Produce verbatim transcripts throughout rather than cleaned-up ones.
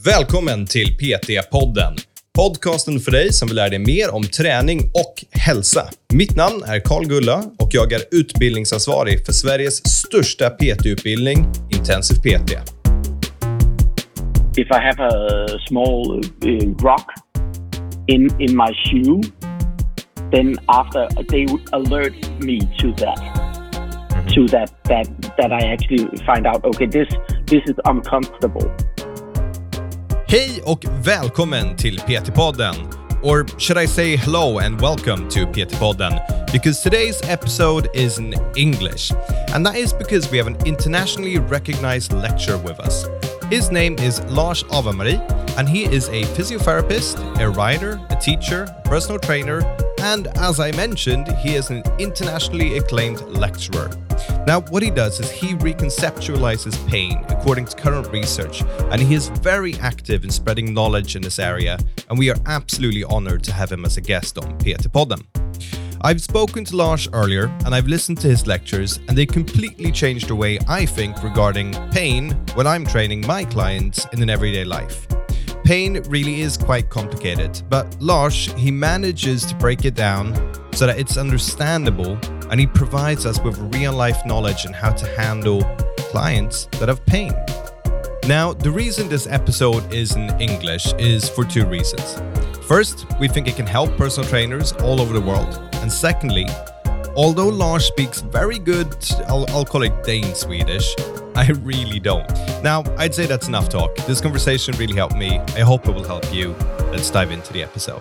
Välkommen till P T-podden. Podcasten för dig som vill lära dig mer om träning och hälsa. Mitt namn är Carl Gulla och jag är utbildningsansvarig för Sveriges största P T-utbildning, Intensiv P T. If I have a small uh, rock in in my shoe, then after they would alert me to that, mm-hmm. to that that that I actually find out. Okay, this this is uncomfortable. Hej och välkommen till P T-podden. Or should I say hello and welcome to P T-podden? Because today's episode is in English. And that is because we have an internationally recognized lecturer with us. His name is Lars Avamari, and he is a physiotherapist, a writer, a teacher, personal trainer, and as I mentioned, he is an internationally acclaimed lecturer. Now, what he does is he reconceptualizes pain according to current research, and he is very active in spreading knowledge in this area, and we are absolutely honored to have him as a guest on P T-podden. I've spoken to Lars earlier, and I've listened to his lectures, and they completely changed the way I think regarding pain when I'm training my clients in an everyday life. Pain really is quite complicated, but Lars, he manages to break it down so that it's understandable, and he provides us with real-life knowledge on how to handle clients that have pain. Now, the reason this episode is in English is for two reasons. First, we think it can help personal trainers all over the world. And secondly, although Lars speaks very good, I'll, I'll call it Dane Swedish, I really don't. Now, I'd say that's enough talk. This conversation really helped me. I hope it will help you. Let's dive into the episode.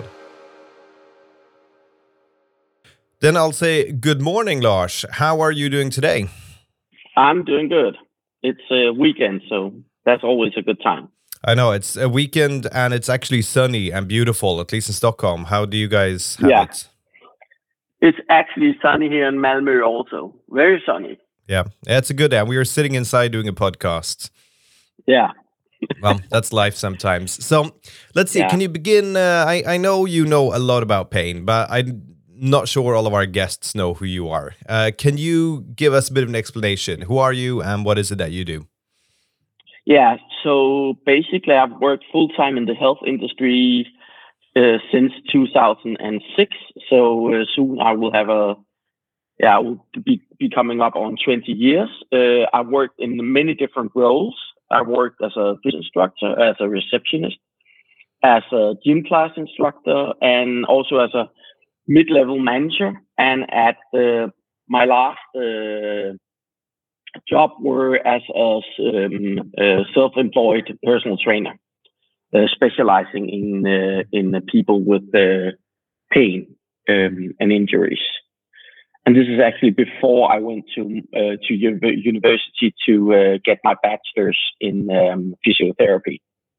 Then I'll say good morning, Lars. How are you doing today? I'm doing good. It's a weekend, so that's always a good time. I know, it's a weekend and it's actually sunny and beautiful, at least in Stockholm. How do you guys have yeah. it? It's actually sunny here in Malmö also. Very sunny. Yeah, it's a good day. We are sitting inside doing a podcast. Yeah. Well, that's life sometimes. So let's see, yeah. Can you begin? Uh, I, I know you know a lot about pain, but I'm not sure all of our guests know who you are. Uh, can you give us a bit of an explanation? Who are you and what is it that you do? Yeah, so basically I've worked full-time in the health industry uh, since two thousand six. So uh, soon I will have a, yeah, I will be, be coming up on twenty years. Uh, I've worked in many different roles. I worked as a fitness instructor, as a receptionist, as a gym class instructor, and also as a mid-level manager. And at uh, my last uh, job were as a um, uh, self-employed personal trainer, uh, specializing in uh, in the people with uh, pain um, and injuries. And this is actually before I went to uh, to u- university to uh, get my bachelor's in um, physiotherapy.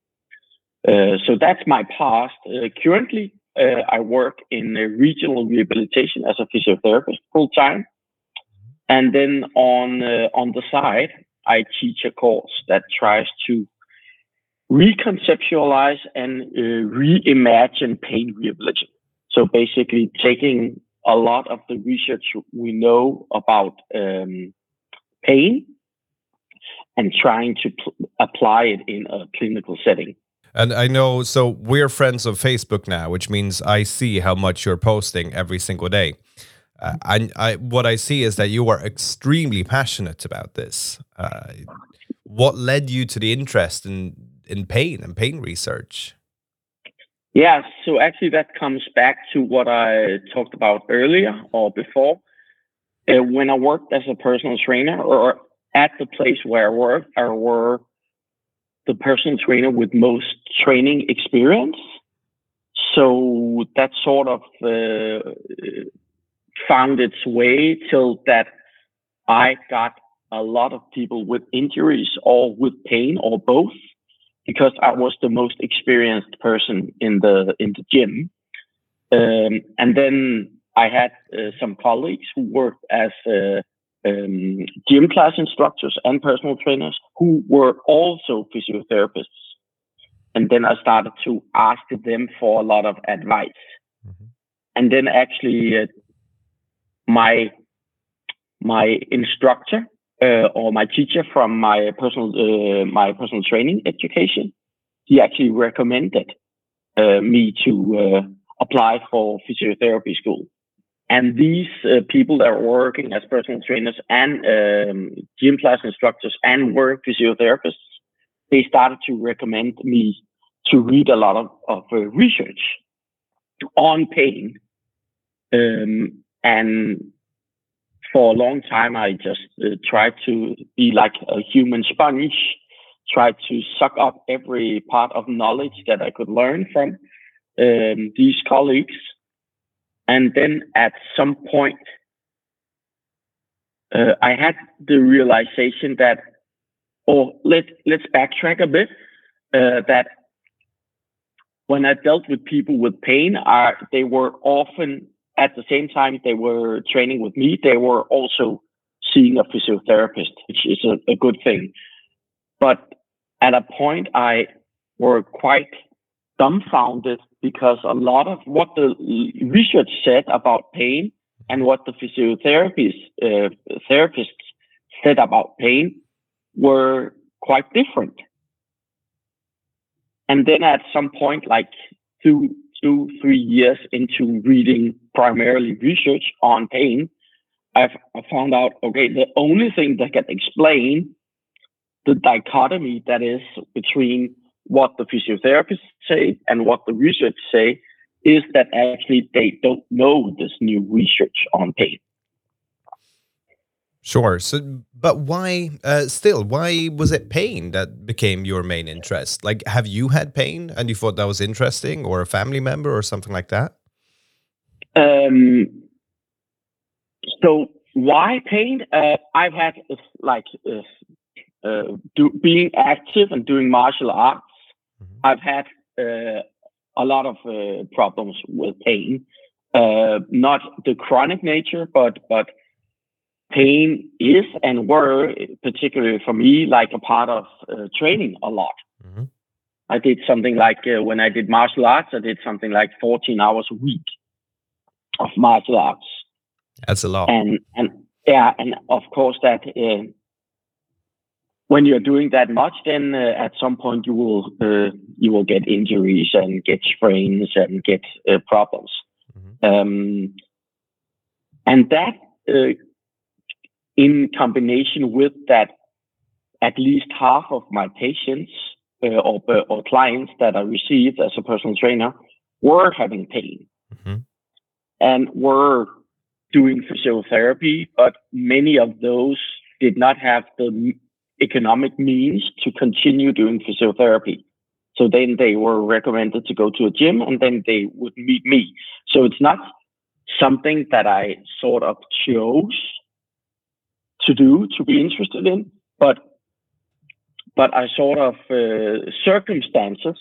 Uh, so that's my past. Uh, currently, uh, I work in uh, regional rehabilitation as a physiotherapist full time. And then on uh, on the side, I teach a course that tries to reconceptualize and uh, reimagine pain rehabilitation. So basically taking a lot of the research we know about um, pain and trying to pl- apply it in a clinical setting. And I know, so we're friends on Facebook now, which means I see how much you're posting every single day. Uh, and I, what I see is that you are extremely passionate about this. Uh, what led you to the interest in, in pain and pain research? Yeah, so actually that comes back to what I talked about earlier or before. Uh, when I worked as a personal trainer or at the place where I worked, I were the personal trainer with most training experience. So that sort of uh, found its way till that I got a lot of people with injuries or with pain or both, because I was the most experienced person in the in the gym. Um, and then I had uh, some colleagues who worked as uh, um, gym class instructors and personal trainers who were also physiotherapists. And then I started to ask them for a lot of advice. Mm-hmm. And then actually uh, my my instructor uh, or my teacher from my personal uh, my personal training education he actually recommended uh, me to uh, apply for physiotherapy school. And these uh, people that are working as personal trainers and um, gym class instructors and work physiotherapists, they started to recommend me to read a lot of, of uh, research on pain. Um, and for a long time, I just uh, tried to be like a human sponge, tried to suck up every part of knowledge that I could learn from um, these colleagues. And then at some point, uh, I had the realization that, or let, let's backtrack a bit, uh, that when I dealt with people with pain, uh, they were often, at the same time they were training with me, they were also seeing a physiotherapist, which is a, a good thing. But at a point, I were quite dumbfounded because a lot of what the research said about pain and what the physiotherapists uh, therapists said about pain were quite different. And then at some point, like two, two, three years into reading primarily research on pain, I've, I found out, okay, the only thing that can explain the dichotomy that is between what the physiotherapists say and what the research say is that actually they don't know this new research on pain. Sure. So, but why, uh, still, why was it pain that became your main interest? Like, have you had pain and you thought that was interesting, or a family member or something like that? Um, so why pain? Uh, I've had uh, like uh, uh, do, being active and doing martial arts. Mm-hmm. I've had uh, a lot of uh, problems with pain, uh, not the chronic nature, but but. Pain is and were, particularly for me, like a part of uh, training a lot. Mm-hmm. I did something like, uh, when I did martial arts, I did something like fourteen hours a week of martial arts. That's a lot. And, and yeah, and of course that uh, when you're doing that much, then uh, at some point you will, uh, you will get injuries and get sprains and get uh, problems. Mm-hmm. Um, and that, uh, in combination with that, at least half of my patients uh, or, or clients that I received as a personal trainer were having pain. Mm-hmm. And were doing physiotherapy, but many of those did not have the economic means to continue doing physiotherapy. So then they were recommended to go to a gym, and then they would meet me. So it's not something that I sort of chose to do, to be interested in, but but I sort of uh, circumstances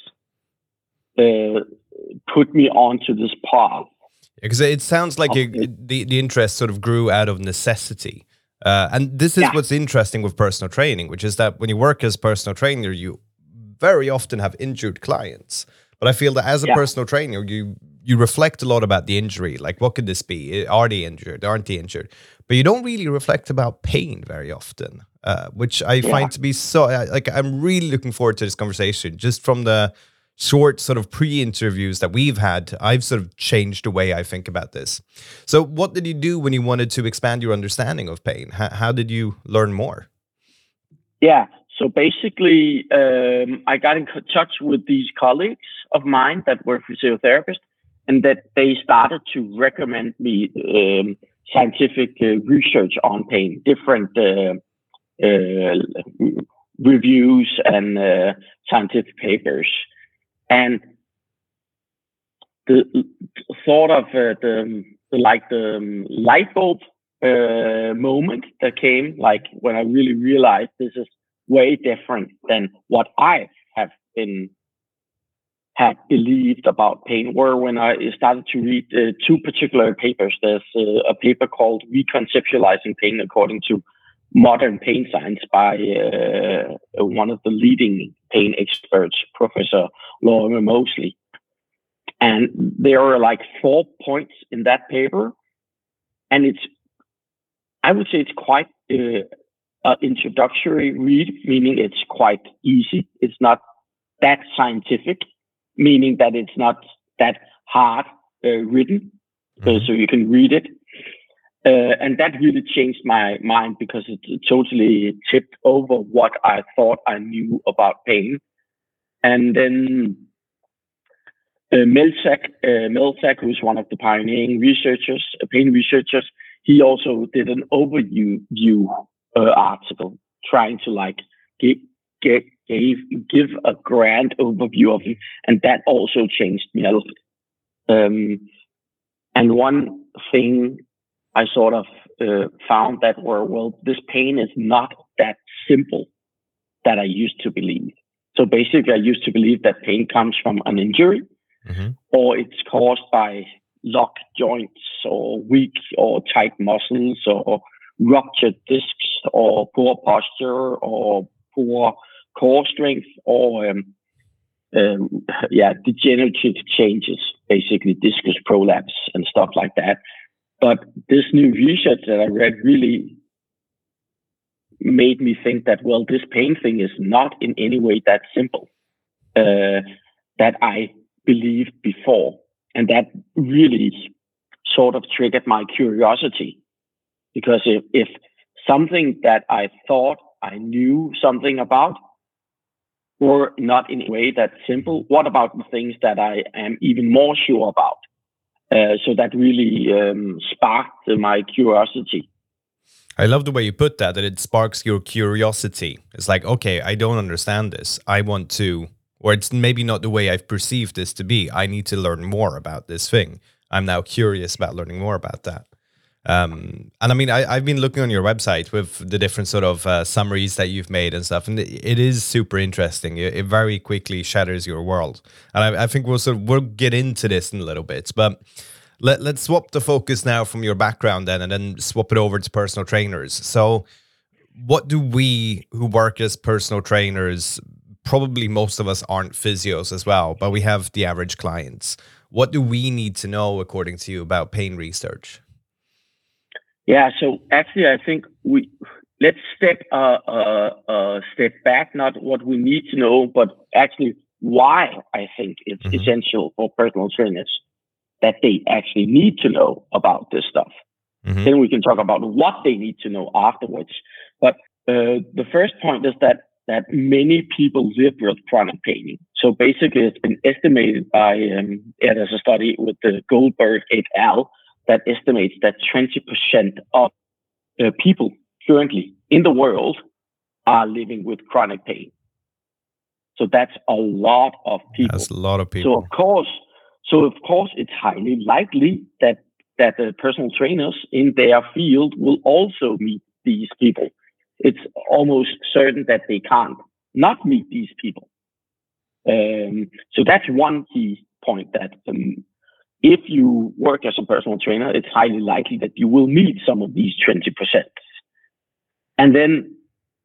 uh, put me onto this path. Because it sounds like you, the the interest sort of grew out of necessity, uh, and this is yeah. what's interesting with personal training, which is that when you work as a personal trainer, you very often have injured clients. But I feel that as a yeah. personal trainer, you you reflect a lot about the injury, like what could this be? Are they injured? Aren't they injured? But you don't really reflect about pain very often, uh, which I yeah. find to be so, like, I'm really looking forward to this conversation. Just from the short sort of pre-interviews that we've had, I've sort of changed the way I think about this. So what did you do when you wanted to expand your understanding of pain? How, how did you learn more? Yeah, so basically, um, I got in touch with these colleagues of mine that were physiotherapists, and that they started to recommend me um, scientific uh, research on pain, different uh, uh, reviews and uh, scientific papers. And the sort of uh, the, the like the um, light bulb uh, moment that came, like when I really realized this is way different than what I have been had believed about pain, were when I started to read uh, two particular papers. There's uh, a paper called Reconceptualizing Pain According to Modern Pain Science by uh, one of the leading pain experts, Professor Lorimer Moseley. And there are like four points in that paper. And it's, I would say it's quite uh, an introductory read, meaning it's quite easy. It's not that scientific, meaning that it's not that hard uh, written, uh, Mhm. so you can read it. Uh, and that really changed my mind because it totally tipped over what I thought I knew about pain. And then uh, Melzack, uh, Melzack, who's one of the pioneering researchers, uh, pain researchers, he also did an overview view, uh, article trying to like give, get, gave, give a grand overview of it. And that also changed me a lot. Um, and one thing I sort of uh, found that were, well, this pain is not that simple that I used to believe. So basically, I used to believe that pain comes from an injury Mm-hmm. or it's caused by locked joints or weak or tight muscles or ruptured discs or poor posture or poor core strength or um, um, yeah, degenerative changes, basically discus prolapse and stuff like that. But this new research that I read really made me think that, well, this pain thing is not in any way that simple uh, that I believed before. And that really sort of triggered my curiosity. Because if, if something that I thought I knew something about were not in a way that simple, what about the things that I am even more sure about? Uh, so that really um, sparked uh, my curiosity. I love the way you put that, that it sparks your curiosity. It's like, okay, I don't understand this. I want to, or it's maybe not the way I've perceived this to be. I need to learn more about this thing. I'm now curious about learning more about that. Um, and I mean, I, I've been looking on your website with the different sort of uh, summaries that you've made and stuff, and it, it is super interesting. It, it very quickly shatters your world. And I, I think we'll sort of, we'll get into this in a little bit, but Let, let's swap the focus now from your background then and then swap it over to personal trainers. So what do we who work as personal trainers, probably most of us aren't physios as well, but we have the average clients. What do we need to know, according to you, about pain research? Yeah, so actually, I think we let's step uh, uh, uh, step back. Not what we need to know, but actually why I think it's Mm-hmm. essential for personal trainers that they actually need to know about this stuff. Mm-hmm. Then we can talk about what they need to know afterwards. But uh, the first point is that that many people live with chronic pain. So basically, it's been estimated by um, yeah, there's a study with the Goldberg et al. That estimates that twenty percent of uh, people currently in the world are living with chronic pain. So that's a lot of people. That's a lot of So people. of course, so of course, it's highly likely that that the personal trainers in their field will also meet these people. It's almost certain that they can't not meet these people. Um, so that's one key point, that um, if you work as a personal trainer, it's highly likely that you will meet some of these twenty percent. And then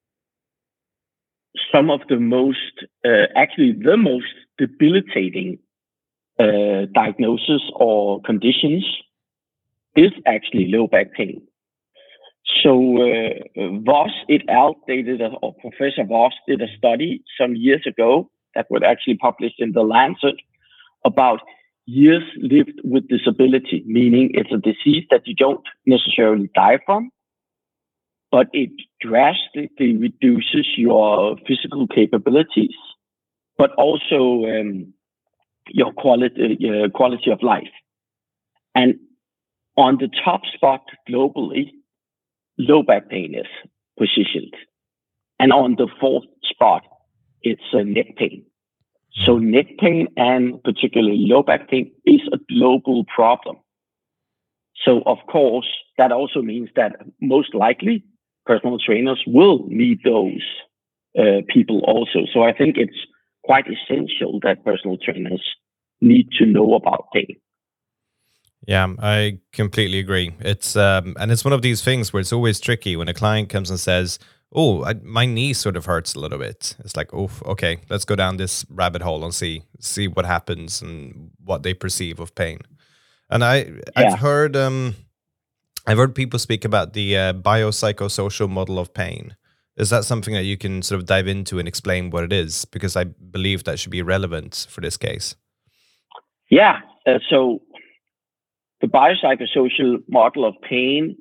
some of the most, uh, actually the most debilitating uh, diagnosis or conditions is actually low back pain. So uh, Voss et al. They did a, or Professor Voss did a study some years ago that was actually published in The Lancet about years lived with disability, meaning it's a disease that you don't necessarily die from, but it drastically reduces your physical capabilities, but also um, your quality, uh, quality of life. And on the top spot globally, low back pain is positioned. And on the fourth spot, it's uh, neck pain. So neck pain and particularly low back pain is a global problem. So of course, that also means that most likely personal trainers will meet those uh, people also. So I think it's quite essential that personal trainers need to know about pain. Yeah, I completely agree. It's um, and it's one of these things where it's always tricky when a client comes and says, "Oh, I, my knee sort of hurts a little bit." It's like, "Oh, okay, let's go down this rabbit hole and see see what happens and what they perceive of pain." And I Yeah. I've heard um, I've heard people speak about the uh, biopsychosocial model of pain. Is that something that you can sort of dive into and explain what it is? Because I believe that should be relevant for this case. Yeah. Uh, so the biopsychosocial model of pain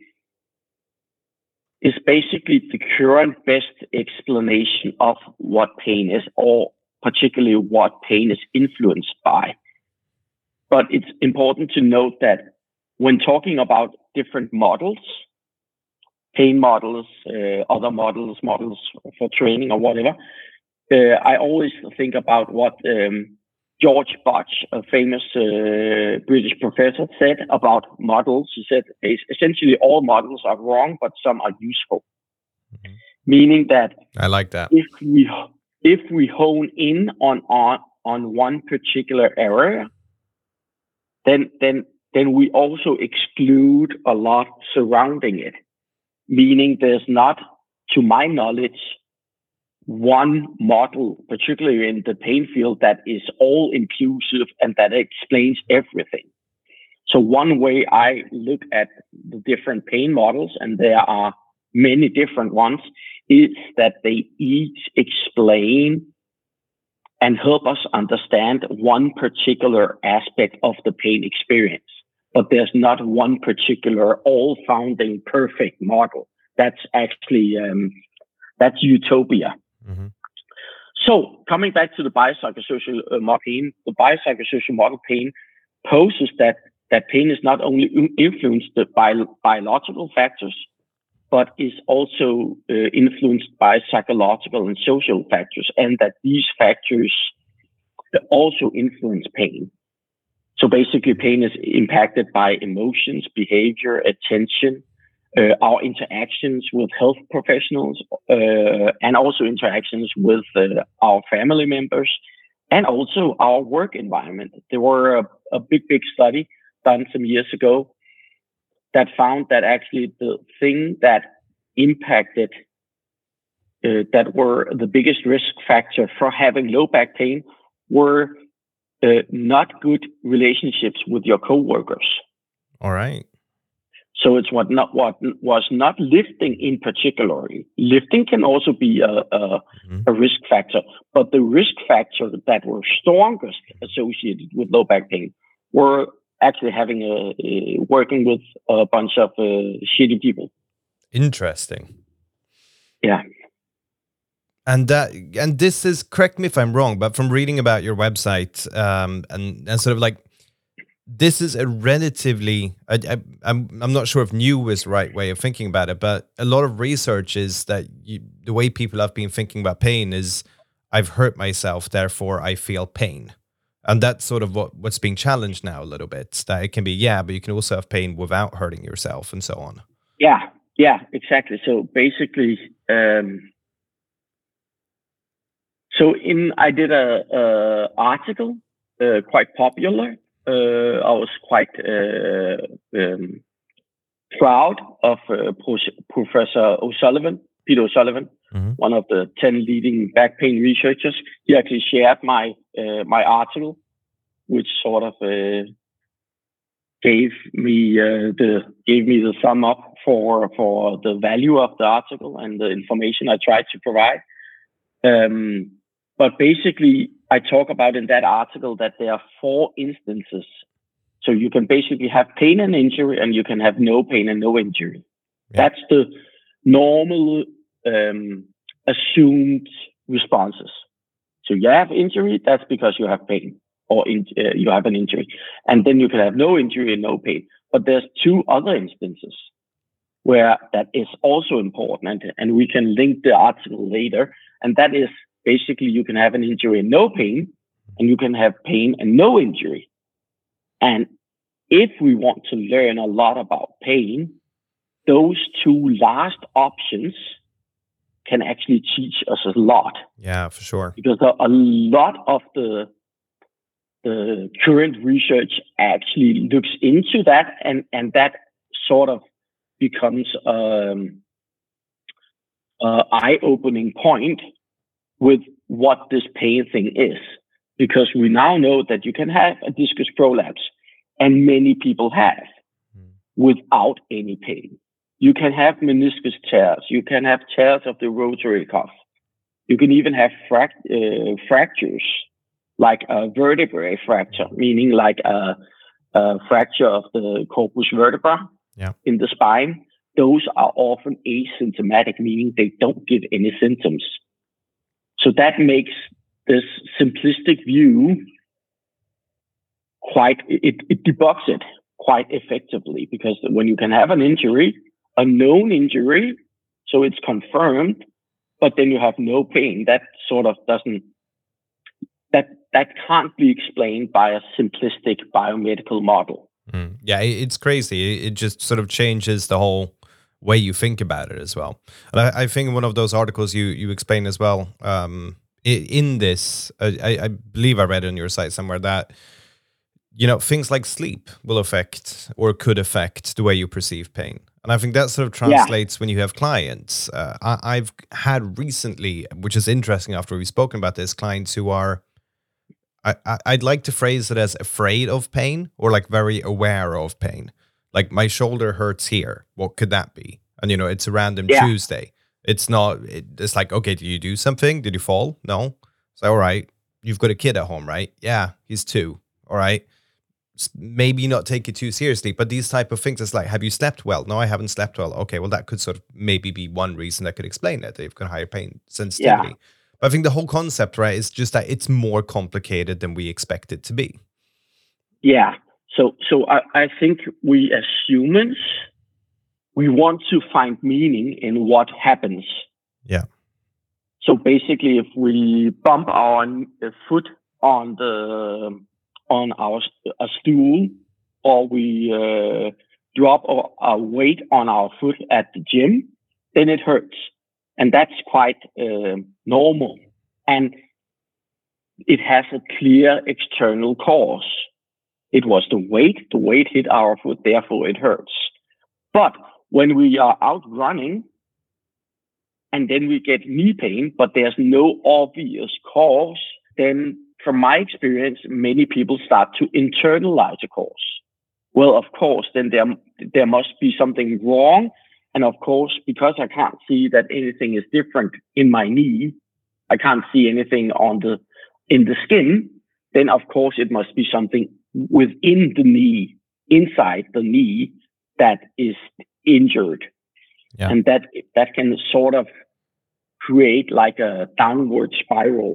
is basically the current best explanation of what pain is, or particularly what pain is influenced by. But it's important to note that when talking about different models, pain models, uh, other models, models for training or whatever, uh, I always think about what um, George Butch, a famous uh, British professor, said about models. He said essentially all models are wrong, but some are useful. Mm-hmm. Meaning that I like that. If we if we hone in on on on one particular area, then then then we also exclude a lot surrounding it. Meaning there's not, to my knowledge, one model, particularly in the pain field, that is all inclusive and that explains everything. So one way I look at the different pain models, and there are many different ones, is that they each explain and help us understand one particular aspect of the pain experience. But there's not one particular all-founding perfect model. That's actually, um, that's utopia. Mm-hmm. So coming back to the biopsychosocial uh, model pain, the biopsychosocial model pain poses that, that pain is not only influenced by biological factors, but is also uh, influenced by psychological and social factors, and that these factors also influence pain. So basically, pain is impacted by emotions, behavior, attention, uh, our interactions with health professionals, uh, and also interactions with uh, our family members, and also our work environment. There were a, a big, big study done some years ago that found that actually the thing that impacted, uh, that were the biggest risk factor for having low back pain were uh, not good relationships with your coworkers. All right. So it's what not what was not lifting in particular. Lifting can also be a, a, mm-hmm. a risk factor, but the risk factors that were strongest associated with low back pain were actually having a, a working with a bunch of uh, shitty people. Interesting. Yeah. And that, and this is, correct me if I'm wrong, but from reading about your website, um, and and sort of like, this is a relatively, I, I, I'm I'm not sure if new is the right way of thinking about it, but a lot of research is that you, the way people have been thinking about pain is, I've hurt myself, therefore I feel pain. And that's sort of what, what's being challenged now a little bit, that it can be, yeah, but you can also have pain without hurting yourself and so on. Yeah, yeah, exactly. So basically, um, so in, I did a, a article, uh, quite popular. Uh, I was quite uh, um, proud of uh, Professor O'Sullivan, Peter O'Sullivan, mm-hmm. one of the ten leading back pain researchers. He actually shared my uh, my article, which sort of uh, gave me uh, the gave me the sum up for for the value of the article and the information I tried to provide. Um, but basically, I talk about in that article that there are four instances. So you can basically have pain and injury, and you can have no pain and no injury. Yeah. That's the normal um, assumed responses. So you have injury, that's because you have pain, or in, uh, you have an injury. And then you can have no injury and no pain. But there's two other instances where that is also important, and, and we can link the article later. And that is basically you can have an injury and no pain, and you can have pain and no injury. And if we want to learn a lot about pain, those two last options can actually teach us a lot. Yeah, for sure. Because a, a lot of the the current research actually looks into that, and, and that sort of becomes um, an eye-opening point with what this pain thing is. Because we now know that you can have a discus prolapse, and many people have, mm. without any pain. You can have meniscus tears. You can have tears of the rotary cuff. You can even have fract- uh, fractures, like a vertebrae fracture, meaning like a, a fracture of the corpus vertebra yeah. in the spine. Those are often asymptomatic, meaning they don't give any symptoms. So that makes this simplistic view quite, it, it debugs it quite effectively, because when you can have an injury, a known injury, so it's confirmed, but then you have no pain, that sort of doesn't, that that can't be explained by a simplistic biomedical model. Mm. Yeah, it's crazy. It just sort of changes the whole way you think about it as well. And I, I think in one of those articles you you explain as well, um, in this, I, I believe I read on your site somewhere that, you know, things like sleep will affect or could affect the way you perceive pain. And I think that sort of translates yeah. when you have clients. Uh, I, I've had recently, which is interesting after we've spoken about this, clients who are, I, I, I'd like to phrase it as afraid of pain or like very aware of pain. Like, my shoulder hurts here. What could that be? And, you know, it's a random yeah. Tuesday. It's not, it, it's like, okay, did you do something? Did you fall? No. So, all right. You've got a kid at home, right? Yeah, he's two. All right. Maybe not take it too seriously, but these type of things, it's like, have you slept well? No, I haven't slept well. Okay, well, that could sort of maybe be one reason that could explain it. They've got higher pain sensitivity. Yeah. But I think the whole concept, right, is just that it's more complicated than we expect it to be. Yeah. So, so I, I think we as humans, we want to find meaning in what happens. Yeah. So basically, if we bump our foot on the on our a stool, or we uh, drop our, our weight on our foot at the gym, then it hurts, and that's quite uh, normal, and it has a clear external cause. It was the weight. The weight hit our foot, therefore it hurts. But when we are out running and then we get knee pain, but there's no obvious cause, then from my experience, many people start to internalize a cause. Well, of course, then there, there must be something wrong. And of course, because I can't see that anything is different in my knee, I can't see anything on the in the skin, then of course it must be something within the knee, inside the knee, that is injured. Yeah. And that that can sort of create like a downward spiral.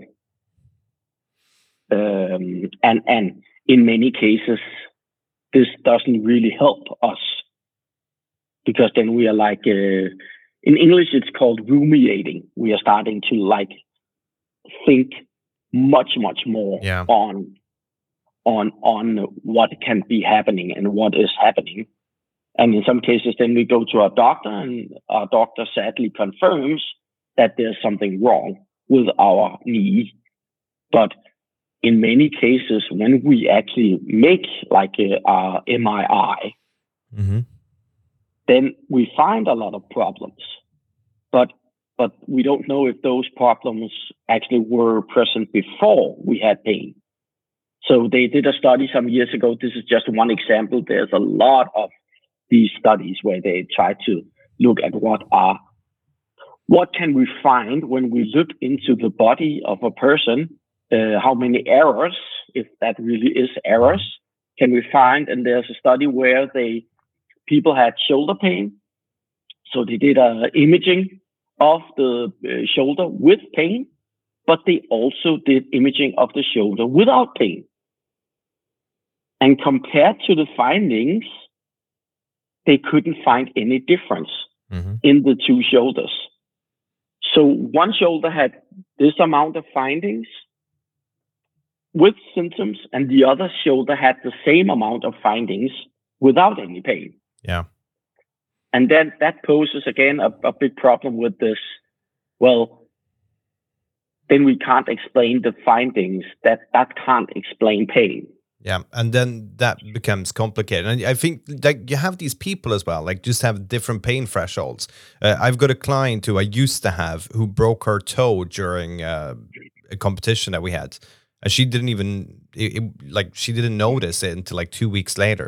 Um, and and in many cases, this doesn't really help us, because then we are like, uh, in English it's called ruminating. We are starting to like think much much more yeah. on on on what can be happening and what is happening. And in some cases, then we go to our doctor, and our doctor sadly confirms that there's something wrong with our knee. But in many cases, when we actually make like a, a M R I, mm-hmm. then we find a lot of problems. But but we don't know if those problems actually were present before we had pain. So they did a study some years ago. This is just one example. There's a lot of these studies where they try to look at what are, what can we find when we look into the body of a person, uh, how many errors, if that really is errors, can we find? And there's a study where they, people had shoulder pain. So they did a imaging of the uh, shoulder with pain, but they also did imaging of the shoulder without pain. And compared to the findings, they couldn't find any difference mm-hmm. in the two shoulders. So one shoulder had this amount of findings with symptoms, and the other shoulder had the same amount of findings without any pain. Yeah. And then that poses, again, a, a big problem with this. Well, then we can't explain the findings. That that can't explain pain. Yeah, and then that becomes complicated. And I think like you have these people as well, like just have different pain thresholds. Uh, I've got a client who I used to have who broke her toe during uh, a competition that we had. And she didn't even, it, it, like, she didn't notice it until like two weeks later.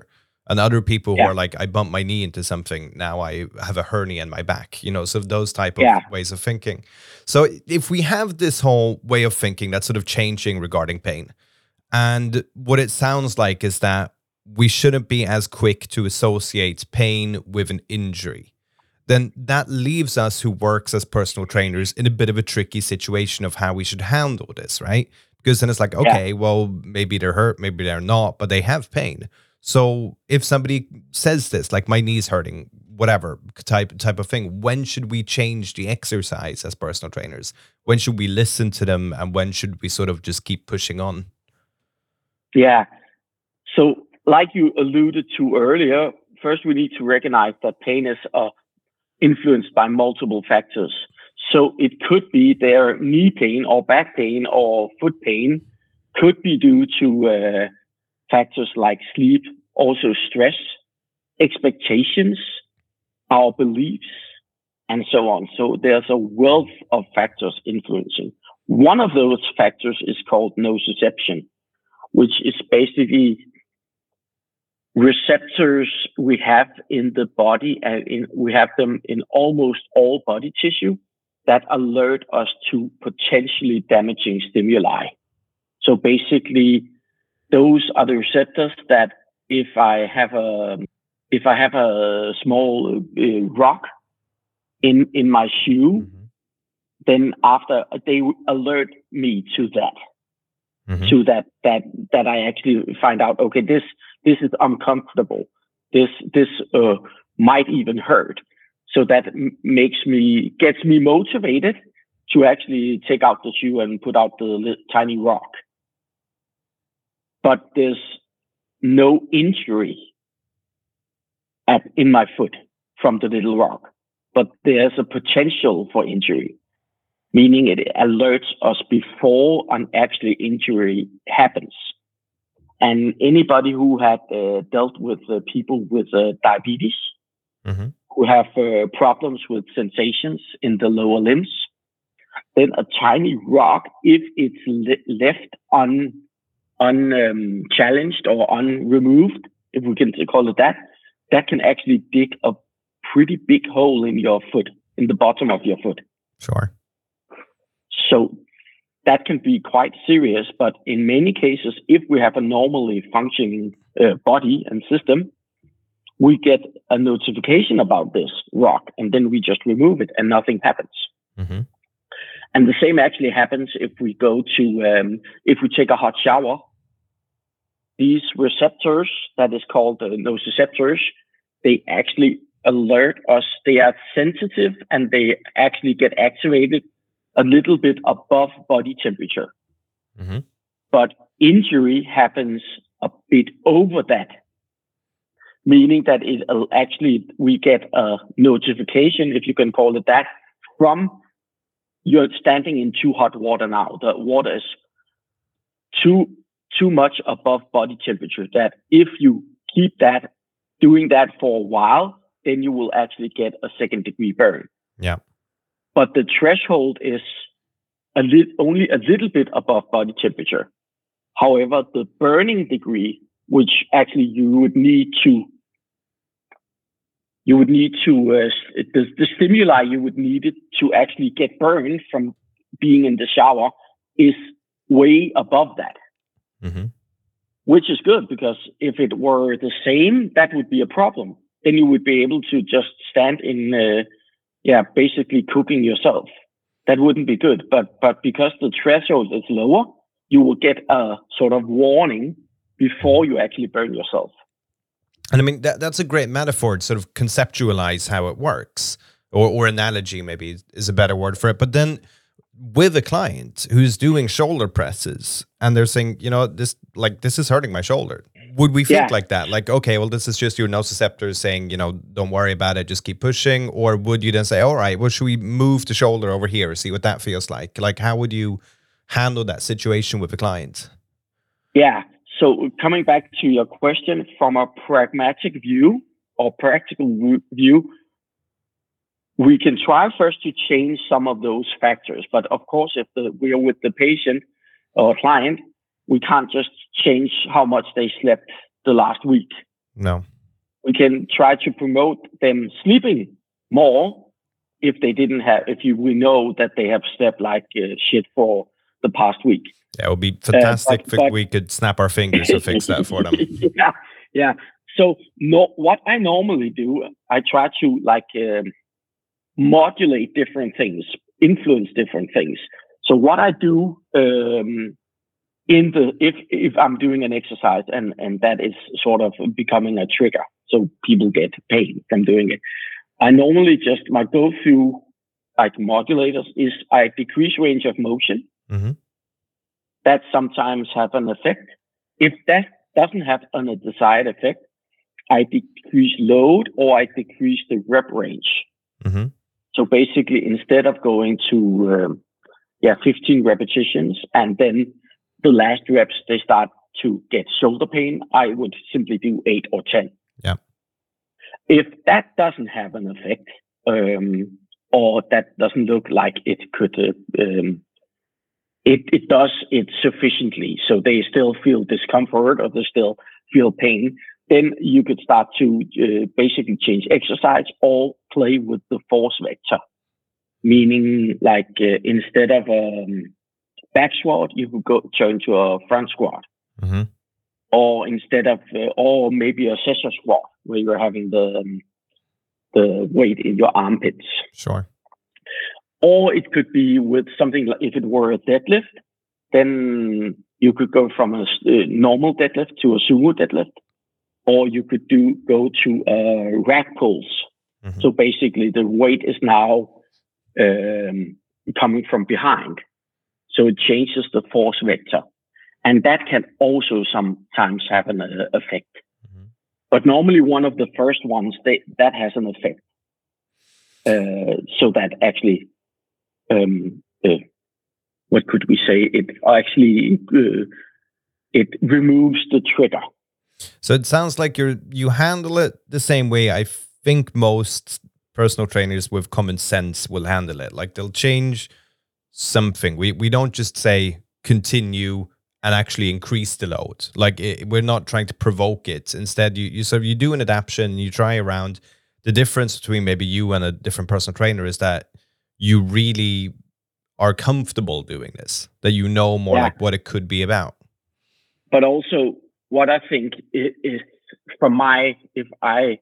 And other people who Yeah. are like, I bumped my knee into something, now I have a hernia in my back, you know, so those type of Yeah. ways of thinking. So if we have this whole way of thinking that's sort of changing regarding pain, and what it sounds like is that we shouldn't be as quick to associate pain with an injury, then that leaves us who works as personal trainers in a bit of a tricky situation of how we should handle this, right? Because then it's like, okay, Yeah. well, maybe they're hurt, maybe they're not, but they have pain. So if somebody says this, like my knee's hurting, whatever type type of thing, when should we change the exercise as personal trainers? When should we listen to them, and when should we sort of just keep pushing on? Yeah. So, like you alluded to earlier, first we need to recognize that pain is uh, influenced by multiple factors. So it could be their knee pain or back pain or foot pain could be due to uh, factors like sleep, also stress, expectations, our beliefs, and so on. So there's a wealth of factors influencing. One of those factors is called nociception, which is basically receptors we have in the body, and in, we have them in almost all body tissue that alert us to potentially damaging stimuli. So basically, those are the receptors that if I have a if I have a small uh, rock in in my shoe, mm-hmm. then after they alert me to that. Mm-hmm. To that, that that I actually find out, okay, this this is uncomfortable. This this uh, might even hurt. So that m- makes me gets me motivated to actually take out the shoe and put out the li- tiny rock. But there's no injury at in my foot from the little rock, but there's a potential for injury. Meaning it alerts us before an actual injury happens. And anybody who had uh, dealt with uh, people with uh, diabetes, mm-hmm. who have uh, problems with sensations in the lower limbs, then a tiny rock, if it's le- left un, unchallenged um, or unremoved, if we can call it that, that can actually dig a pretty big hole in your foot, in the bottom of your foot. Sure. So that can be quite serious, but in many cases, if we have a normally functioning uh, body and system, we get a notification about this rock, and then we just remove it and nothing happens. Mm-hmm. And the same actually happens if we go to, um, if we take a hot shower. These receptors, that is called uh, nociceptors, they actually alert us. They are sensitive and they actually get activated a little bit above body temperature. Mm-hmm. But injury happens a bit over that, meaning that it actually, we get a notification, if you can call it that, from you're standing in too hot water now. The water is too, too much above body temperature, that if you keep that, doing that for a while, then you will actually get a second degree burn. Yeah. But the threshold is a li- only a little bit above body temperature. However, the burning degree, which actually you would need to, you would need to, uh, the, the stimuli you would need it to actually get burned from being in the shower is way above that. Mm-hmm. Which is good, because if it were the same, that would be a problem. Then you would be able to just stand in, uh, yeah, basically cooking yourself. That wouldn't be good. But but because the threshold is lower, you will get a sort of warning before you actually burn yourself. And I mean, that that's a great metaphor to sort of conceptualize how it works, or or analogy maybe is a better word for it. But then with a client who's doing shoulder presses and they're saying, you know, this like this is hurting my shoulder. Would we think yeah. like that? Like, okay, well, this is just your nociceptors saying, you know, don't worry about it, just keep pushing. Or would you then say, all right, well, should we move the shoulder over here, see what that feels like? Like, how would you handle that situation with the client? Yeah. So coming back to your question, from a pragmatic view or practical view, we can try first to change some of those factors. But of course, if the, we are with the patient or client, we can't just change how much they slept the last week. No. we can try to promote them sleeping more if they didn't have, if you, we know that they have slept like uh, shit for the past week. Yeah, it would be fantastic uh, but, if but, we could snap our fingers to fix that for them. yeah, yeah. So no, what I normally do, I try to like um, modulate different things, influence different things. So what I do um, in the if if I'm doing an exercise and and that is sort of becoming a trigger, so people get pain from doing it, I normally just my go-to like modulators is I decrease range of motion. Mm-hmm. That sometimes have an effect. If that doesn't have an, a desired effect, I decrease load or I decrease the rep range. Mm-hmm. So basically, instead of going to um, yeah fifteen repetitions and then the last reps they start to get shoulder pain, I would simply do eight or ten. Yeah. If that doesn't have an effect, um, or that doesn't look like it could, uh, um, it it does it sufficiently, so they still feel discomfort or they still feel pain, then you could start to uh, basically change exercise or play with the force vector. Meaning, like uh, instead of a um, back squat, you could go turn to a front squat, mm-hmm. or instead of, uh, or maybe a scissor squat where you're having the um, the weight in your armpits. Sure. Or it could be with something like if it were a deadlift, then you could go from a uh, normal deadlift to a sumo deadlift, or you could do go to uh, rack pulls. Mm-hmm. So basically, the weight is now um, coming from behind, so it changes the force vector, and that can also sometimes have an uh, effect. Mm-hmm. But normally, one of the first ones they, that has an effect, uh, so that actually. Um, uh, what could we say? It actually uh, it removes the trigger. So it sounds like you're you handle it the same way I think most personal trainers with common sense will handle it. Like they'll change something. We we don't just say continue and actually increase the load. Like it, we're not trying to provoke it. Instead, you you so you do an adaptation. You try around. The difference between maybe you and a different personal trainer is that you really are comfortable doing this, that you know more yeah. like what it could be about. But also what I think is, is from my, if I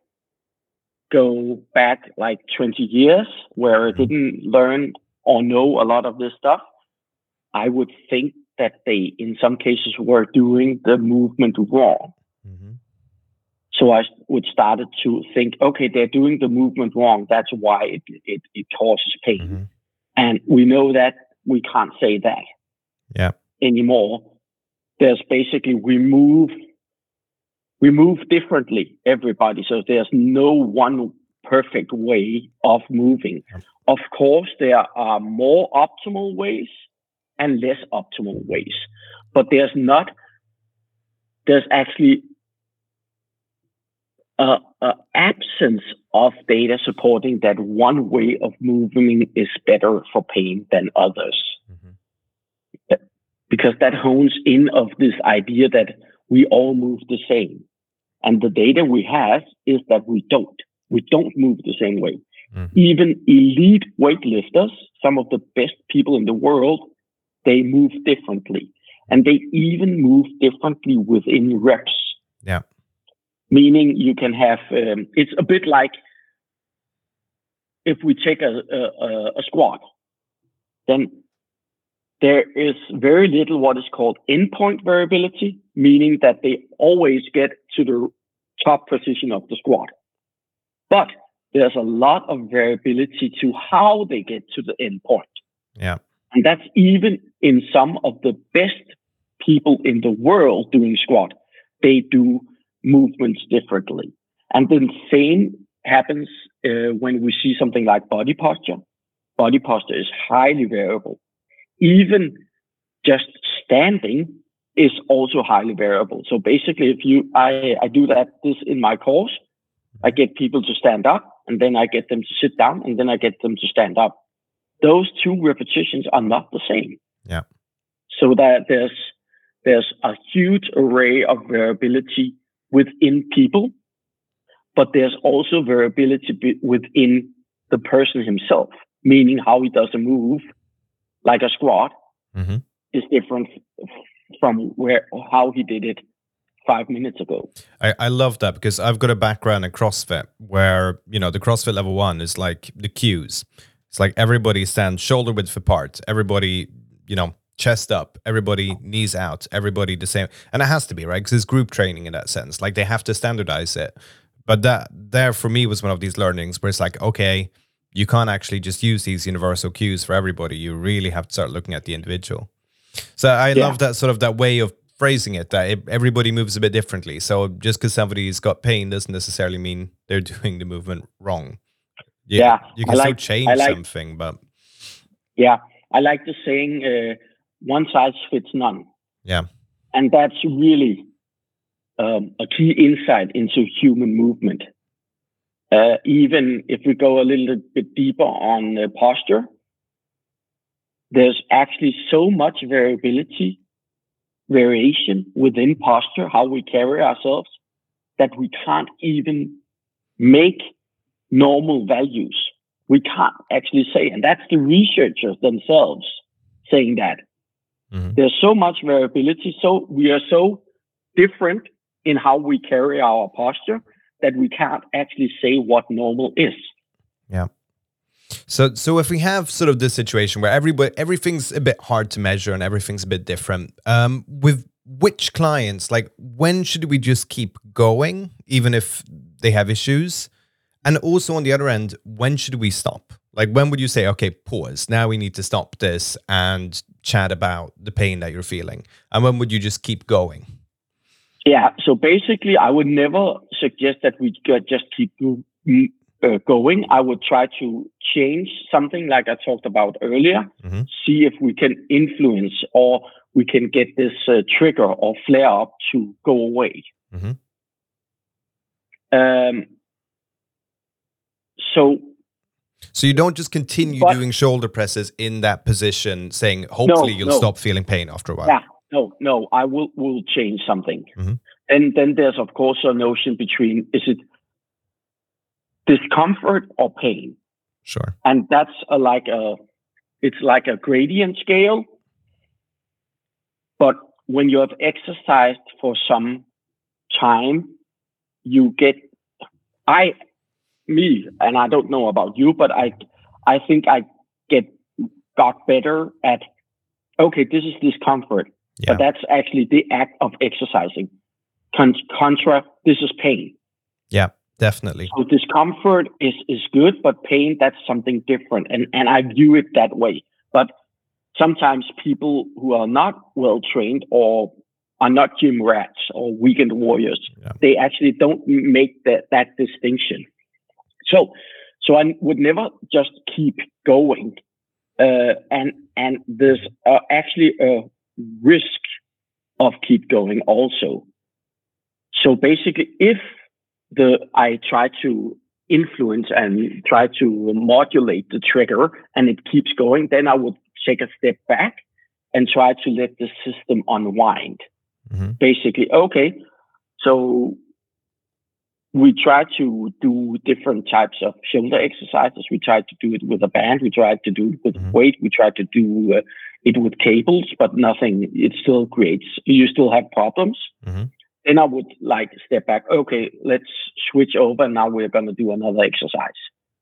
go back like twenty years where mm-hmm. I didn't learn or know a lot of this stuff, I would think that they, in some cases, were doing the movement wrong. Mm-hmm. So I would started to think, okay, they're doing the movement wrong. That's why it, it, it causes pain. Mm-hmm. And we know that we can't say that yeah. anymore. There's basically, we move, we move differently, everybody. So there's no one perfect way of moving. Yeah. Of course, there are more optimal ways and less optimal ways, but there's not, there's actually a, a absence of data supporting that one way of moving is better for pain than others. Mm-hmm. Because that hones in of this idea that we all move the same. And the data we have is that we don't. We don't move the same way. Mm-hmm. Even elite weightlifters, some of the best people in the world, they move differently. And they even move differently within reps. Yeah. Meaning you can have, um, it's a bit like if we take a, a, a squat, then there is very little what is called endpoint variability, meaning that they always get to the top position of the squat. But there's a lot of variability to how they get to the endpoint. Yeah. And that's even in some of the best people in the world doing squat. They do movements differently. And the same happens uh, when we see something like body posture. Body posture is highly variable. Even just standing is also highly variable. So basically, if you, I, I do that this in my course, I get people to stand up, and then I get them to sit down, and then I get them to stand up. Those two repetitions are not the same. Yeah. So that there's there's a huge array of variability within people, but there's also variability be- within the person himself, meaning how he does a move, like a squat, Mm-hmm. is different f- from where how he did it five minutes ago. I, I love that because I've got a background in CrossFit where, you know, the CrossFit level one is like the cues. It's like everybody stands shoulder width apart, everybody, you know, chest up, everybody knees out, everybody the same. And it has to be, right? Because it's group training in that sense. Like they have to standardize it. But that there for me was one of these learnings where it's like, okay, you can't actually just use these universal cues for everybody. You really have to start looking at the individual. So I Yeah. love that sort of that way of phrasing it, that it, everybody moves a bit differently. So just because somebody's got pain doesn't necessarily mean they're doing the movement wrong. You, Yeah, you I can still like- change I like- something, but Yeah, I like the saying, uh, one size fits none. yeah. And that's really um, a key insight into human movement. Uh, even if we go a little bit deeper on uh, posture, there's actually so much variability, variation within posture, how we carry ourselves, that we can't even make normal values. We can't actually say, and that's the researchers themselves saying that. Mhm. There's so much variability, so we are so different in how we carry our posture that we can't actually say what normal is. Yeah. So, so if we have sort of this situation where everybody, everything's a bit hard to measure and everything's a bit different, um, with which clients, like when should we just keep going, even if they have issues? And also on the other end, when should we stop? Like when would you say, okay, pause, now we need to stop this and chat about the pain that you're feeling? And when would you just keep going? Yeah, so basically, I would never suggest that we could just keep uh, going. I would try to change something like I talked about earlier, Mhm. see if we can influence or we can get this uh, trigger or flare up to go away. Mhm. Um, so, So you don't just continue But- doing shoulder presses in that position, saying hopefully you'll no. stop feeling pain after a while. yeah, no, no, I will will change something. Mhm. And then there's, of course, a notion between, is it discomfort or pain? Sure. And that's a, like a, it's like a gradient scale. But when you have exercised for some time, you get, I, me, and I don't know about you, but I, I think I get, got better at, okay, this is discomfort, Yeah. but that's actually the act of exercising. Con- contra, this is pain. Yeah, definitely. So discomfort is, is good, but pain, that's something different. And, and I view it that way. But sometimes people who are not well trained or are not gym rats or weekend warriors, Yeah. they actually don't make that, that distinction. So, so I would never just keep going. Uh, and, and there's uh, actually a risk of keep going also. So basically, if the I try to influence and try to modulate the trigger and it keeps going, then I would take a step back and try to let the system unwind. Mhm. Basically, okay, so we try to do different types of shoulder exercises. We try to do it with a band. We try to do it with Mhm. weight. We try to do uh, it with cables, but nothing, it still creates, you still have problems. Mhm. Then I would like step back. Okay, let's switch over. Now we're going to do another exercise.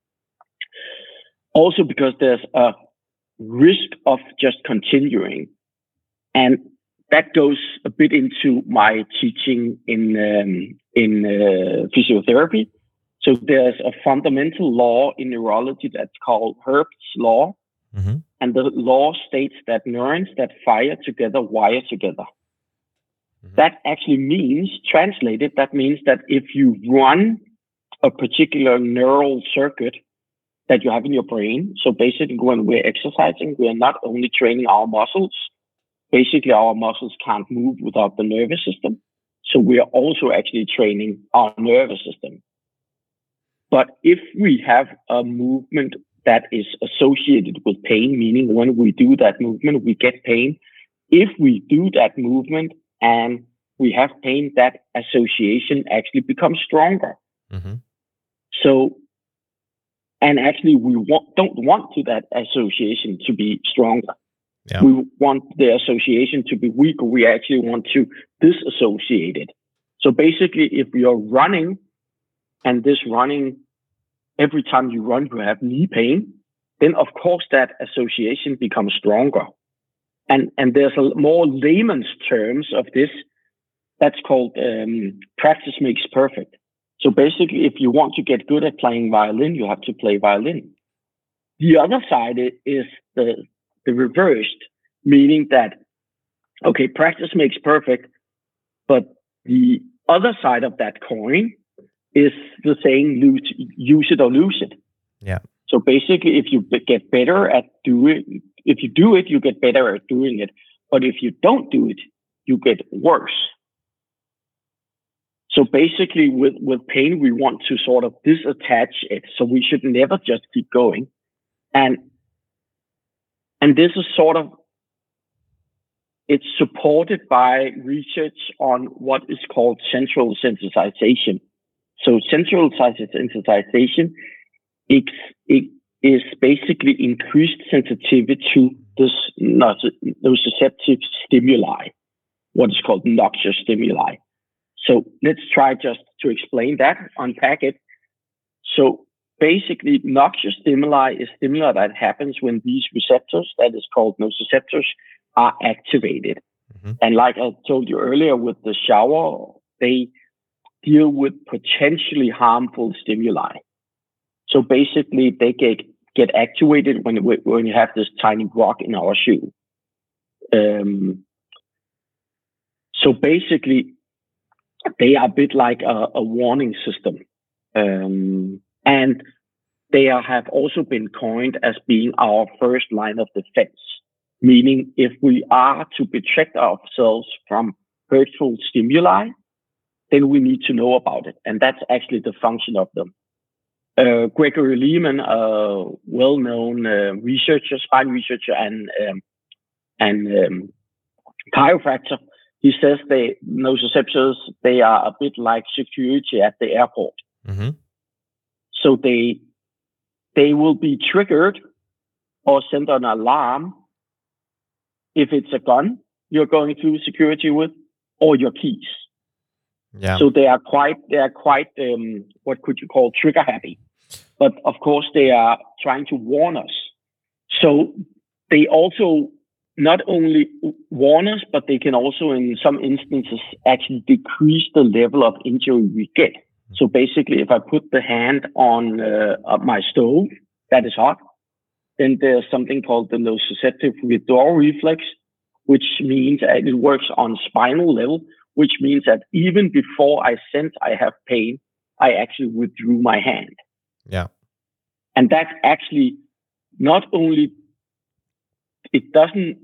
Also, because there's a risk of just continuing. And that goes a bit into my teaching in, um, in uh, physiotherapy. So there's a fundamental law in neurology that's called Herb's law. Mhm. And the law states that neurons that fire together wire together. Mhm. That actually means, translated, that means that if you run a particular neural circuit that you have in your brain, so basically when we're exercising, we're not only training our muscles, basically our muscles can't move without the nervous system. So we are also actually training our nervous system. But if we have a movement that is associated with pain, meaning when we do that movement, we get pain. If we do that movement and we have pain, that association actually becomes stronger. Mm-hmm. So, and actually, we want, don't want to that association to be stronger. Yeah. We want the association to be weaker. We actually want to disassociate it. So basically, if you're running and this running, every time you run, you have knee pain, then of course that association becomes stronger. And, and there's a more layman's terms of this. That's called um, practice makes perfect. So basically, if you want to get good at playing violin, you have to play violin. The other side is the, the reversed, meaning that, okay, practice makes perfect, but the other side of that coin is the saying, lose, use it or lose it. Yeah. So basically, if you get better at doing, if you do it, you get better at doing it. But if you don't do it, you get worse. So basically, with, with pain, we want to sort of disattach it. So we should never just keep going. And, and this is sort of, it's supported by research on what is called central sensitization. So central sensitization it, it is basically increased sensitivity to this nociceptive stimuli, what is called noxious stimuli. So let's try just to explain that, unpack it. So basically, noxious stimuli is stimuli that happens when these receptors, that is called nociceptors, are activated. Mm-hmm. And like I told you earlier with the shower, they deal with potentially harmful stimuli. So basically, they get, get activated when, when you have this tiny rock in our shoe. Um, so basically, they are a bit like a, a warning system. Um, and they are, have also been coined as being our first line of defense, meaning if we are to protect ourselves from hurtful stimuli, then we need to know about it. And that's actually the function of them. Uh, Gregory Lehman, a well-known uh, researcher, spine researcher and, um, and um, chiropractor, he says they nociceptors, they are a bit like security at the airport. Mm-hmm. So they they will be triggered or send an alarm if it's a gun you're going through security with or your keys. Yeah. So they are quite they are quite um, what could you call trigger happy, but of course they are trying to warn us. So they also not only warn us, but they can also, in some instances, actually decrease the level of injury we get. So basically, if I put the hand on uh, my stove that is hot, then there's something called the nociceptive withdrawal reflex, which means that it works on spinal level, which means that even before I sense I have pain, I actually withdrew my hand. Yeah. And that's actually not only it doesn't,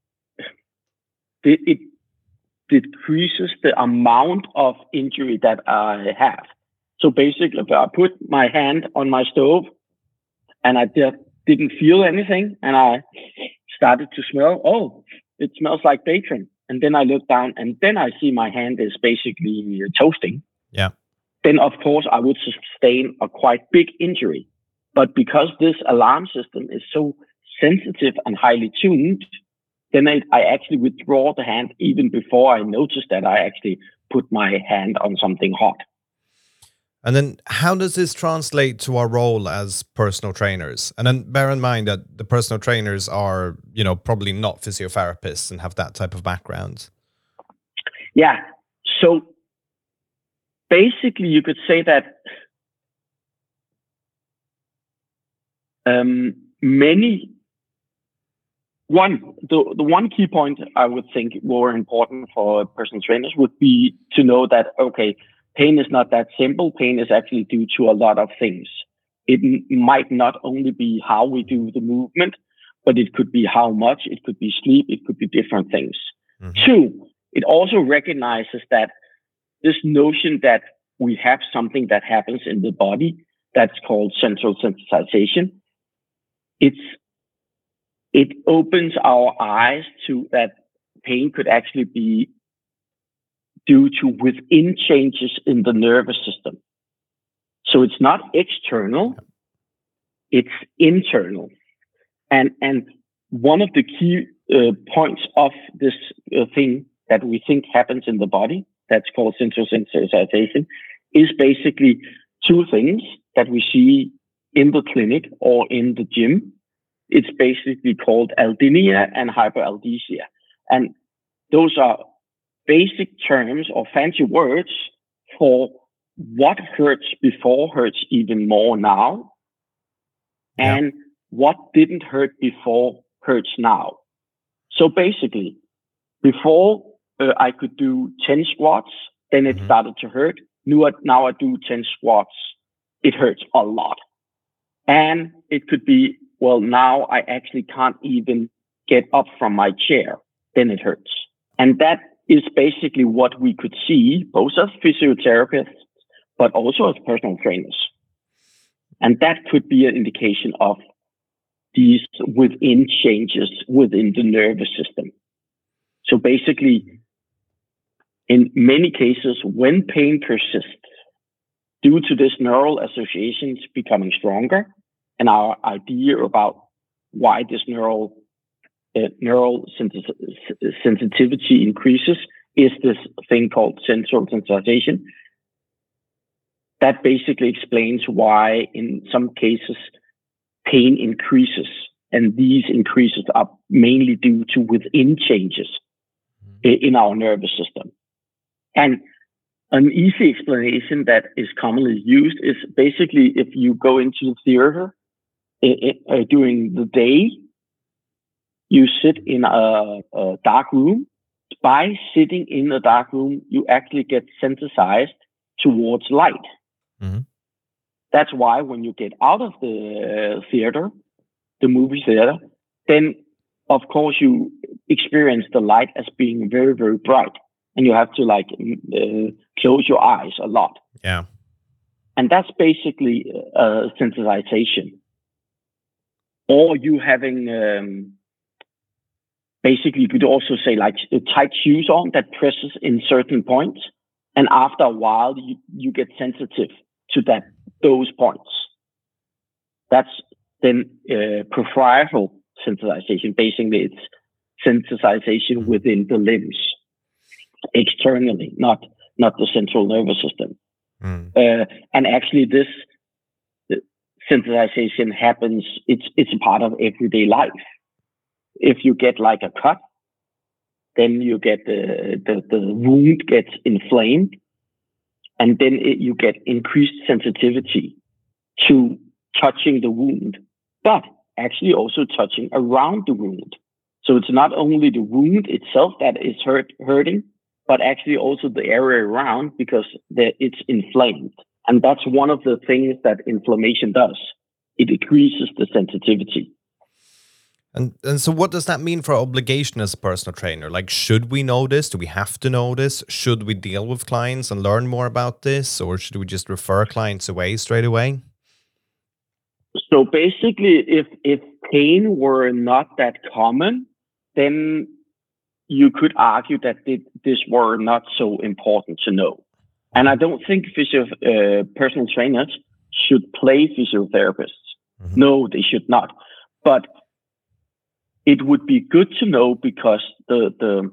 it, it decreases the amount of injury that I have. So basically, if I put my hand on my stove and I just didn't feel anything and I started to smell, oh, it smells like bacon. And then I look down and then I see my hand is basically toasting. Yeah. Then, of course, I would sustain a quite big injury. But because this alarm system is so sensitive and highly tuned, then I, I actually withdraw the hand even before I notice that I actually put my hand on something hot. And then how does this translate to our role as personal trainers? And then bear in mind that the personal trainers are, you know, probably not physiotherapists and have that type of background. Yeah. So basically, you could say that um, many One, the, the one key point I would think more important for personal trainers would be to know that, okay, pain is not that simple. Pain is actually due to a lot of things. It m- might not only be how we do the movement, but it could be how much, it could be sleep, it could be different things. Mm-hmm. Two, it also recognizes that this notion that we have something that happens in the body that's called central sensitization. It's It opens our eyes to that pain could actually be due to within changes in the nervous system. So it's not external, it's internal. And and one of the key uh, points of this uh, thing that we think happens in the body, that's called sensory-sensitization, is basically two things that we see in the clinic or in the gym. It's basically called aldynia and hyperalgesia. And those are basic terms or fancy words for what hurts before hurts even more now, and yeah. what didn't hurt before hurts now. So basically, before uh, I could do ten squats, then it mm-hmm. started to hurt. Now, now I do ten squats, it hurts a lot. And it could be, well, now I actually can't even get up from my chair, then it hurts. And that is basically what we could see, both as physiotherapists, but also as personal trainers. And that could be an indication of these within changes within the nervous system. So basically, in many cases, when pain persists, due to this neural associations becoming stronger, and our idea about why this neural uh, neural sensi- sensitivity increases is this thing called central sensitization. That basically explains why, in some cases, pain increases, and these increases are mainly due to within changes in our nervous system. And an easy explanation that is commonly used is basically if you go into the theater it, uh, during the day, you sit in a, a dark room. By sitting in a dark room, you actually get sensitized towards light. Mm-hmm. That's why when you get out of the theater, the movie theater, then of course you experience the light as being very, very bright. And you have to like uh, close your eyes a lot. Yeah. And that's basically uh, sensitization. Or you having, um, basically you could also say like tight shoes on that presses in certain points. And after a while, you, you get sensitive to that those points. That's then uh, peripheral sensitization. Basically, it's sensitization mm-hmm. within the limbs. Externally, not not the central nervous system. Mm. Uh, and actually, this sensitization happens. It's it's a part of everyday life. If you get like a cut, then you get the the, the wound gets inflamed, and then it, you get increased sensitivity to touching the wound, but actually also touching around the wound. So it's not only the wound itself that is hurt hurting, but actually also the area around, because it's inflamed. And that's one of the things that inflammation does. It decreases the sensitivity. And and so what does that mean for our obligation as a personal trainer? Like, should we know this? Do we have to know this? Should we deal with clients and learn more about this? Or should we just refer clients away straight away? So basically, if, if pain were not that common, then you could argue that this were not so important to know. And I don't think physio, uh, personal trainers should play physiotherapists. Mm-hmm. No, they should not. But it would be good to know, because the, the,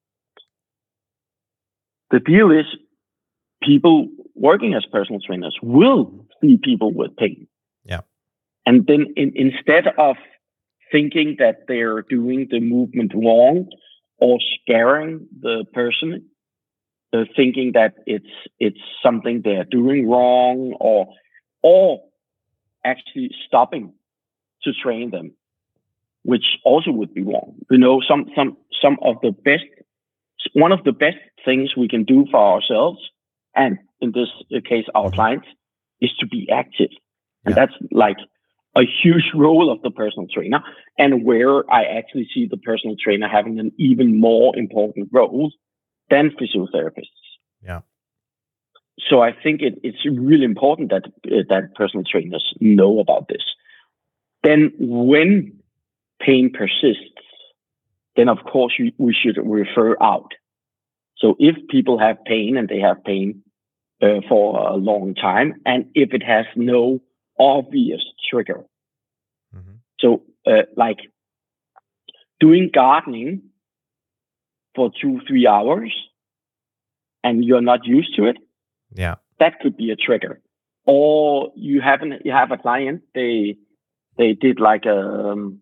the deal is people working as personal trainers will see people with pain. Yeah. And then in, instead of thinking that they're doing the movement wrong, or scaring the person, uh, thinking that it's it's something they're doing wrong, or or actually stopping to train them, which also would be wrong. You know, some some some of the best, one of the best things we can do for ourselves, and in this case our clients, is to be active, and yeah. that's like a huge role of the personal trainer, and where I actually see the personal trainer having an even more important role than physiotherapists. Yeah. So I think it, it's really important that uh, that personal trainers know about this. Then when pain persists, then of course we, we should refer out. So if people have pain and they have pain uh, for a long time, and if it has no obvious trigger. Mm-hmm. So, uh, like doing gardening for two, three hours, and you're not used to it. Yeah, that could be a trigger. Or you haven't, you have a client, they they did like a um,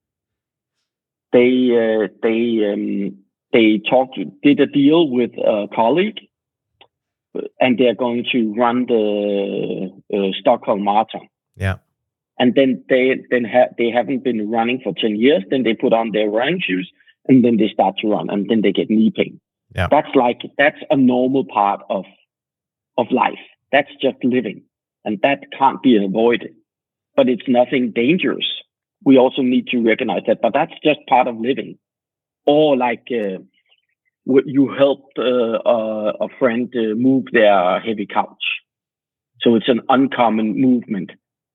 they uh, they um, they talked did a deal with a colleague, and they're going to run the uh, Stockholm Marathon. Yeah, and then they then ha- they haven't been running for ten years. Then they put on their running shoes, and then they start to run, and then they get knee pain. Yeah, that's like that's a normal part of of life. That's just living, and that can't be avoided. But it's nothing dangerous. We also need to recognize that. But that's just part of living. Or like uh, you helped uh, uh, a friend uh, move their heavy couch. So it's an uncommon movement.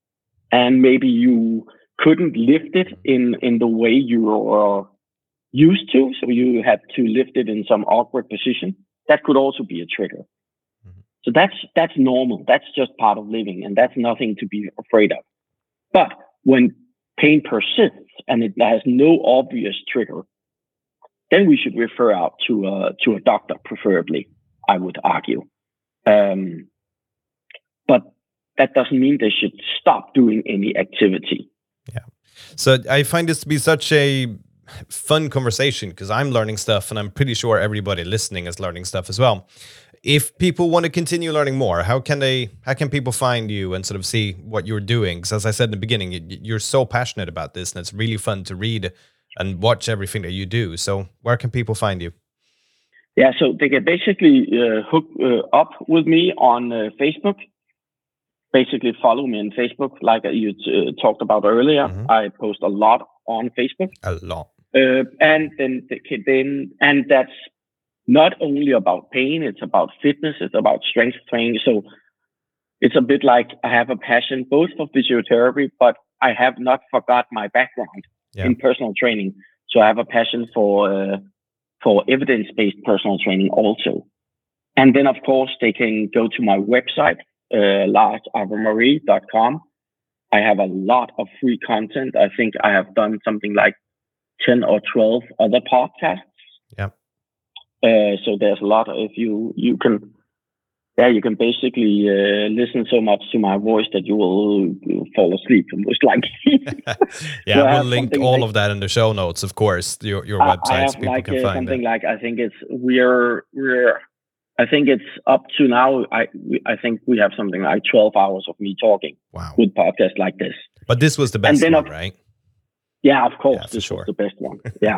And maybe you couldn't lift it in, in the way you were used to. So you had to lift it in some awkward position. That could also be a trigger. Mm-hmm. So that's that's normal. That's just part of living. And that's nothing to be afraid of. But when pain persists and it has no obvious trigger, then we should refer out to a, to a doctor, preferably, I would argue. Um, but that doesn't mean they should stop doing any activity. Yeah. So I find this to be such a fun conversation because I'm learning stuff and I'm pretty sure everybody listening is learning stuff as well. If people want to continue learning more, how can they, how can people find you and sort of see what you're doing? Because as I said in the beginning, you're so passionate about this and it's really fun to read and watch everything that you do. So where can people find you? Yeah, so they can basically uh, hook uh, up with me on uh, Facebook. Basically follow me on Facebook, like you uh, talked about earlier. Mm-hmm. I post a lot on Facebook. A lot. Uh, and then, then, and that's not only about pain, it's about fitness, it's about strength training. So it's a bit like I have a passion both for physiotherapy, but I have not forgot my background yeah. in personal training. So I have a passion for uh, for evidence-based personal training also. And then, of course, they can go to my website, uh, lars arve marie dot com. I have a lot of free content. I think I have done something like ten or twelve other podcasts. Yeah. Uh, so there's a lot. If you you can, yeah, you can basically uh, listen so much to my voice that you will you'll fall asleep. Most likely. yeah, so we'll link all like, of that in the show notes, of course. Your your I, websites, I have people like, can uh, find something it. like I think it's we're we're I think it's up to now. I we, I think we have something like twelve hours of me talking. Wow. With podcasts like this. But this was the best one, of, right? Yeah, of course. Yeah, this sure. was the best one. Yeah.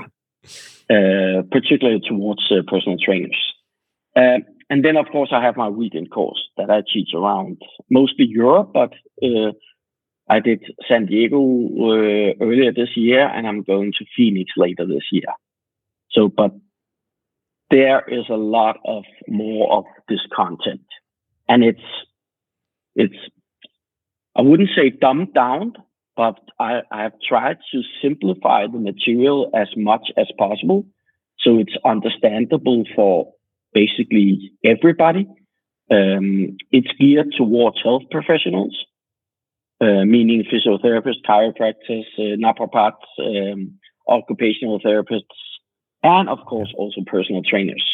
Uh, particularly towards uh, personal trainers. Uh, and then, of course, I have my weekend course that I teach around mostly Europe, but uh, I did San Diego uh, earlier this year, and I'm going to Phoenix later this year. So, but there is a lot of more of this content, and it's it's I wouldn't say dumbed down, but I, I have tried to simplify the material as much as possible. So it's understandable for basically everybody. Um, it's geared towards health professionals, uh, meaning physiotherapists, chiropractors, uh, naprapaths, um, occupational therapists, and of course also personal trainers.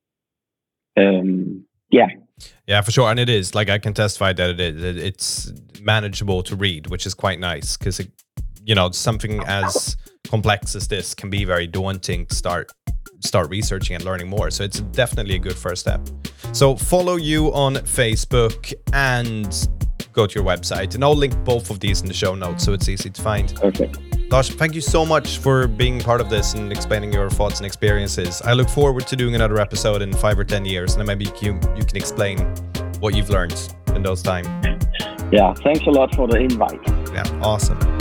Um, yeah. Yeah, for sure. And it is, like, I can testify that it is. It's manageable to read, which is quite nice because, you know, something as complex as this can be very daunting to start start researching and learning more. So it's definitely a good first step. So follow you on Facebook and go to your website. And I'll link both of these in the show notes so it's easy to find. Okay. Lars, thank you so much for being part of this and explaining your thoughts and experiences. I look forward to doing another episode in five or ten years, and then maybe you, you can explain what you've learned in those times. Yeah, thanks a lot for the invite. Yeah, awesome.